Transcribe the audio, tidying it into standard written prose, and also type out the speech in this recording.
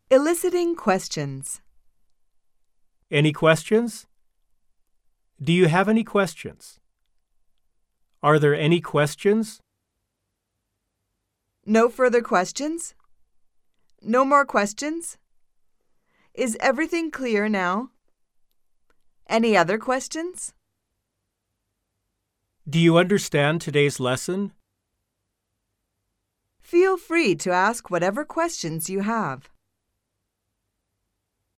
Eliciting questions. Any questions? Do you have any questions? Are there any questions? No further questions? No more questions? Is everything clear now? Any other questions? Do you understand today's lesson? Feel free to ask whatever questions you have.